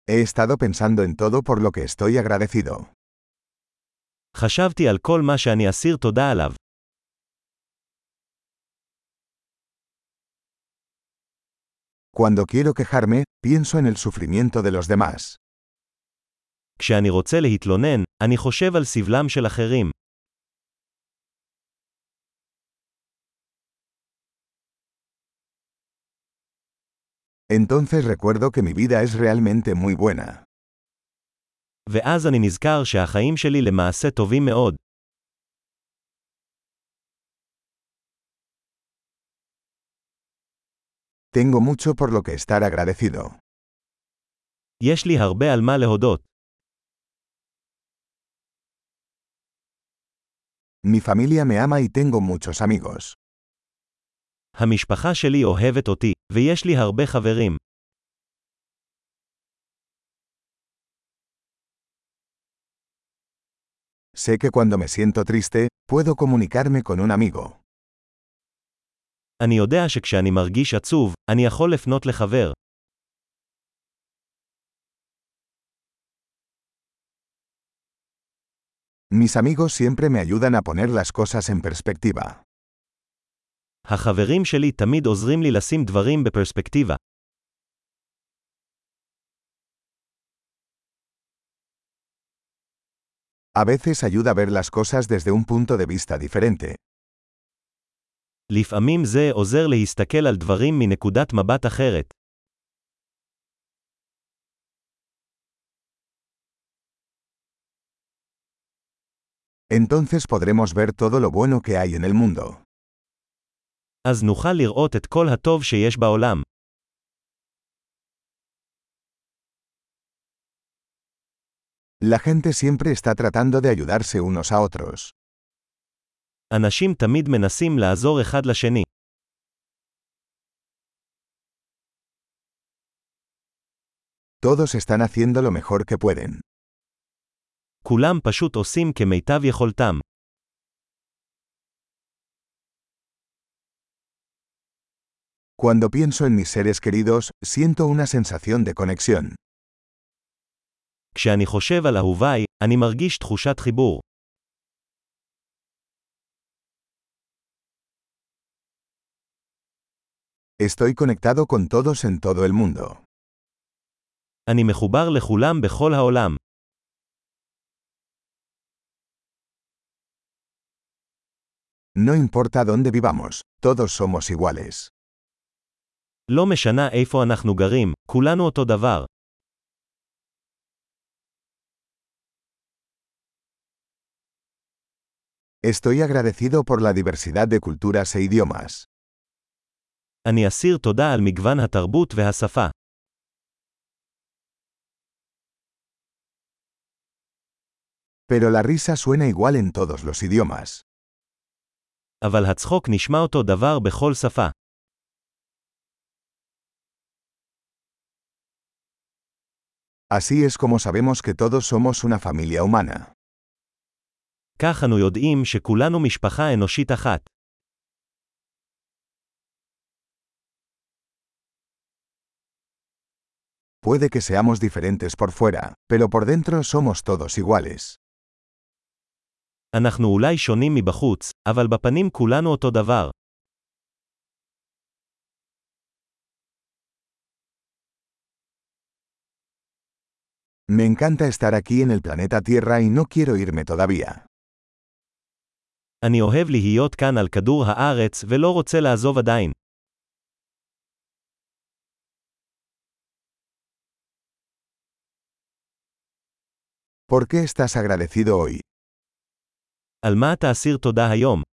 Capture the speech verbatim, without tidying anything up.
He estado pensando en todo por lo que estoy agradecido. חשבתי על כל מה שאני אסיר תודה עליו. Cuando quiero quejarme, pienso en el sufrimiento de los demás. כשאני רוצה להתלונן, אני חושב על סבלם של אחרים. Entonces recuerdo que mi vida es realmente muy buena. ואז אני נזכר שהחיים שלי למעשה טובים מאוד. Tengo mucho por lo que estar agradecido. יש לי הרבה על מה להודות. Mi familia me ama y tengo muchos amigos. המשפחה שלי אוהבת אותי, ויש לי הרבה חברים. Sé que cuando me siento triste, puedo comunicarme con un amigo. אני יודע שכשאני מרגיש עצוב, אני יכול לפנות לחבר. Mis amigos siempre me ayudan a poner las cosas en perspectiva. החברים שלי תמיד עוזרים לי לשים דברים בפרספקטיבה. A veces ayuda a ver las cosas desde un punto de vista diferente. לפעמים זה עוזר להסתכל על דברים מנקודת מבט אחרת. Entonces podremos ver todo lo bueno que hay en el mundo. אז נוכל לראות את כל הטוב שיש בעולם. La gente siempre está tratando de ayudarse unos a otros. אנשים תמיד מנסים לעזור אחד לשני. Todos están haciendo lo mejor que pueden. כולם פשוט עושים כמיטב יכולתם. Cuando pienso en mis seres queridos, siento una sensación de conexión. כשאני חושב על אהוביי, אני מרגיש תחושת חיבור. Estoy conectado con todos en todo el mundo. אני מחובר לכולם בכל העולם. No importa dónde vivamos, todos somos iguales. לא משנה איפה אנחנו גרים, כולנו אותו דבר. Estoy agradecido por la diversidad de culturas e idiomas. אני אסיר תודה על מגוון התרבות והשפה. Pero la risa suena igual en todos los idiomas. אבל הצחוק נשמע אותו דבר בכל שפה. Así es como sabemos que todos somos una familia humana. כך אנו יודעים שכולנו משפחה אנושית אחת. Puede que seamos diferentes por fuera, pero por dentro somos todos iguales. אנחנו אולי שונים מבחוץ, אבל בפנים כולנו אותו דבר. Me encanta estar aquí en el planeta Tierra y no quiero irme todavía. אני אוהב להיות כאן על כדור הארץ ולא רוצה לעזוב עדיין. ¿Por qué estás agradecido hoy? על מה אתה אסיר תודה היום?